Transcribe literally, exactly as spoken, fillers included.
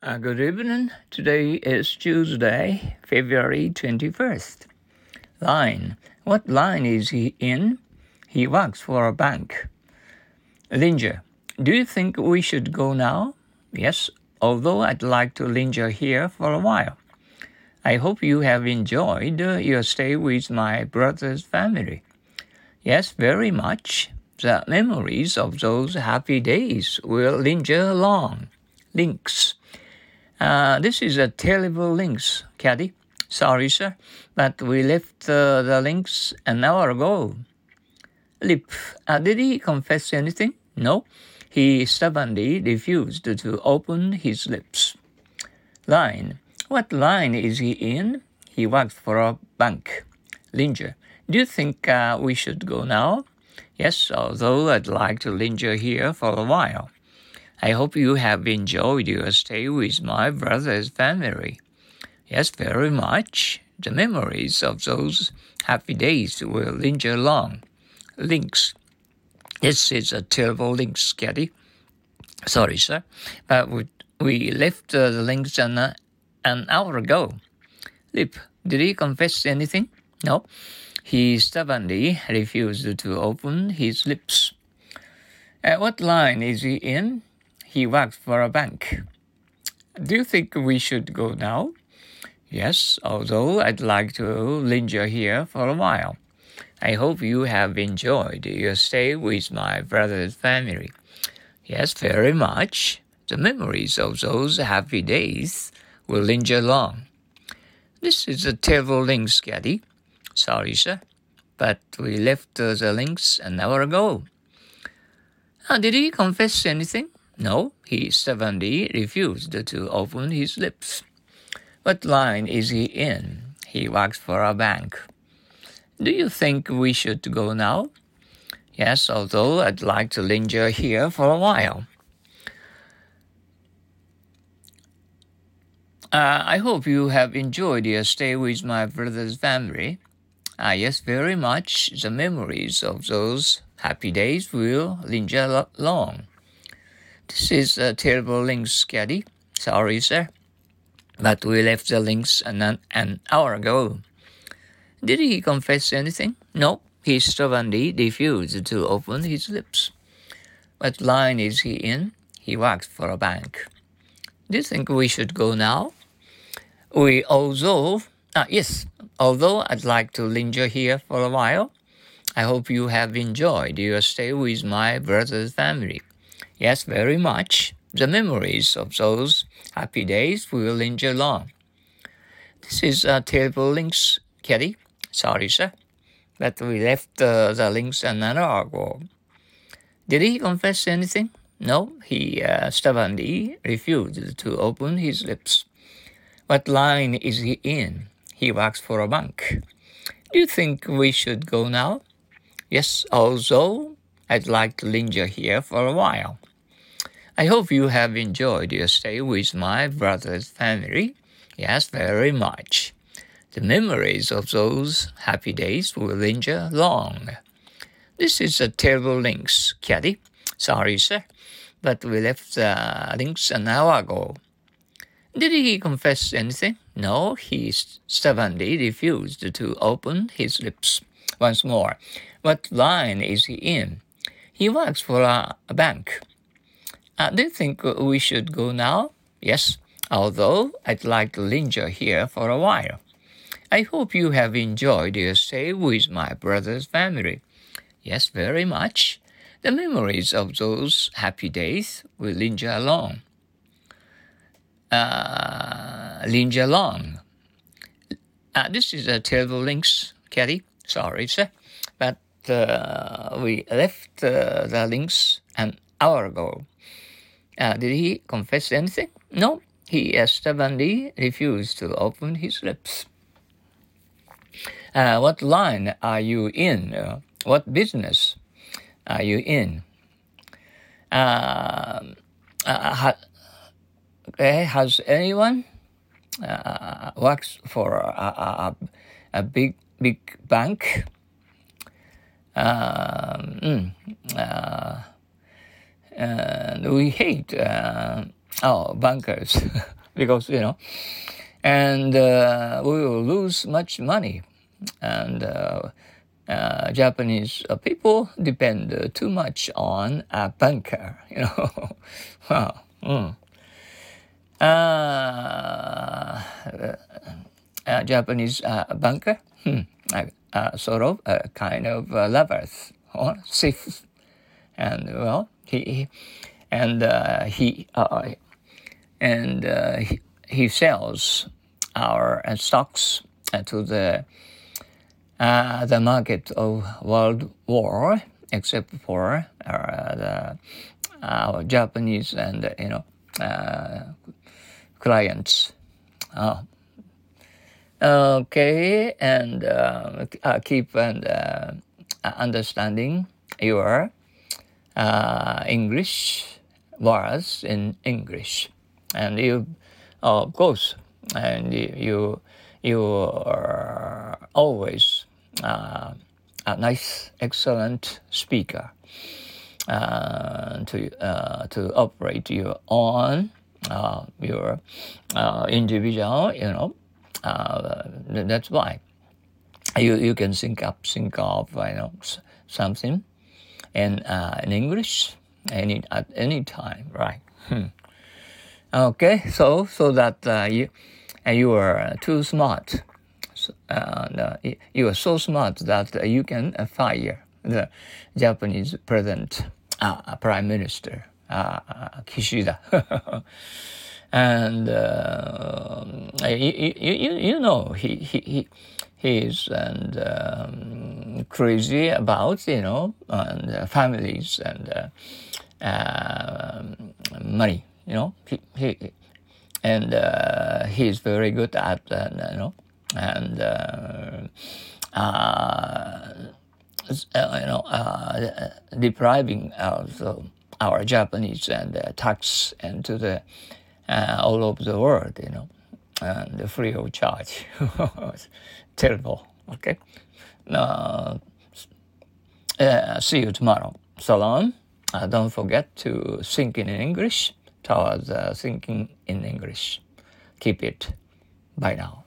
Uh, good evening. Today is Tuesday, February twenty-first. Line. What line is he in? He works for a bank. Linger. Do you think we should go now? Yes, although I'd like to linger here for a while. I hope you have enjoyed uh, your stay with my brother's family. Yes, very much. The memories of those happy days will linger along. Links. Uh, this is a terrible links, Caddy. Sorry, sir, but we left uh, the links an hour ago. Lip. Uh, did he confess anything? No. He stubbornly refused to open his lips. Line. What line is he in? He works for a bank. Linger. Do you think uh, we should go now? Yes, although I'd like to linger here for a while. I hope you have enjoyed your stay with my brother's family. Yes, very much. The memories of those happy days will linger along. Links. This is a terrible links, Caddy. Sorry, sir, but we, we left uh, the links an, uh, an hour ago. Lip. Did he confess anything? No. He stubbornly refused to open his lips. Uh, what line is he in? He works for a bank. Do you think we should go now? Yes, although I'd like to linger here for a while. I hope you have enjoyed your stay with my brother's family. Yes, very much. The memories of those happy days will linger along. This is a terrible links, Caddy. Sorry, sir, but we left uh, the links an hour ago. Uh, did he confess anything? No, he stubbornly refused to open his lips. What line is he in? He works for a bank. Do you think we should go now? Yes, although I'd like to linger here for a while. Uh, I hope you have enjoyed your stay with my brother's family. Ah, yes, very much. The memories of those happy days will linger along. This is a terrible links, Caddy. Sorry, sir, but we left the links an, an hour ago. Did he confess anything? No, he stubbornly refused to open his lips. What line is he in? He works for a bank. Do you think we should go now? We although, ah, yes, although I'd like to linger here for a while, I hope you have enjoyed your stay with my brother's family. Yes, very much. The memories of those happy days will linger along. This is a terrible links, Caddy. Sorry, sir, but we left uh, the links an hour ago. Did he confess anything? No, he uh, stubbornly refused to open his lips. What line is he in? He works for a bank. Do you think we should go now? Yes, although I'd like to linger here for a while. I hope you have enjoyed your stay with my brother's family. Yes, very much. The memories of those happy days will linger long. This is a terrible links, Caddy. Sorry, sir, but we left the links an hour ago. Did he confess anything? No, he stubbornly refused to open his lips. Once more, what line is he in? He works for a, a bank. Uh, do you think we should go now? Yes, although I'd like to linger here for a while. I hope you have enjoyed your stay with my brother's family. Yes, very much. The memories of those happy days will linger along. Uh, linger along. Uh, this is a terrible links, Caddy. Sorry, sir, but uh, we left uh, the links an hour ago. Uh, did he confess anything? No, he uh, stubbornly refused to open his lips. Uh, what line are you in? Uh, what business are you in? Uh, uh, ha, okay, has anyone uh, works for a, a, a big big bank? Um, mm, uh, and we hate uh, oh, bankers, because, you know, and uh, we will lose much money. And uh, uh, Japanese uh, people depend uh, too much on a banker, you know. Wow. Mm. Uh, uh, Japanese uh, banker, hmm. uh, uh, sort of uh, kind of uh, lovers or thieves, and well, he, he and uh, he uh, and uh, he, he sells our uh, stocks uh, to the uh, the market of World War, except for uh, the our Japanese and uh, you know uh, clients. Oh. Okay, and uh, uh, keep and uh, understanding your uh, English words in English, and you, oh, of course, and you you are always uh, a nice, excellent speaker uh, to uh, to operate your own uh, your uh, individual, you know. Uh, that's why you you can think up think of you know something in uh, in English any at any time, right? Hmm. Okay, so so that uh, you uh, you are too smart, so, uh, you are so smart that uh, you can uh, fire the Japanese president, uh, prime minister uh, Kishida. And uh, you, you, you know he he he he's and um, crazy about you know and uh, families and uh, uh, money, you know he, he and uh, he's very good at uh, you know and uh, uh, you know uh, depriving also our Japanese and uh, tax into the Uh, all over the world, you know, and free of charge. Terrible. Okay. Uh, uh, see you tomorrow. Salam. Uh, don't forget to think in English towards uh, thinking in English. Keep it. Bye now.